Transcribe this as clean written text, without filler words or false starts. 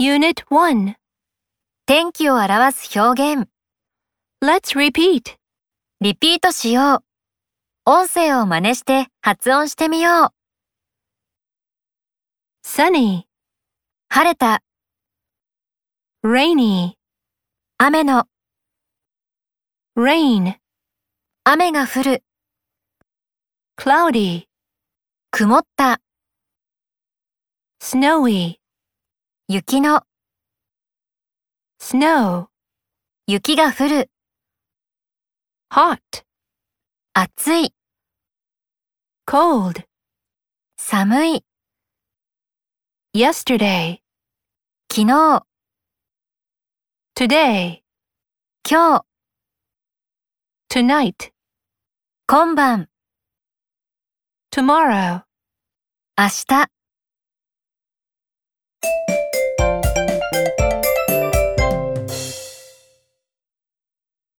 Unit 1. 天気を表す表現。 Let's repeat. リピートしよう。音声を真似して発音してみよう。 Sunny, 晴れた、 rainy, 雨の、 rain, 雨が降る、 cloudy, 曇った、 snowy, 雪の、 snow, 雪が降る、 hot, 暑い、 cold, 寒い、 yesterday, 昨日、 today, 今日、 tonight, 今晩、 tomorrow. 明日。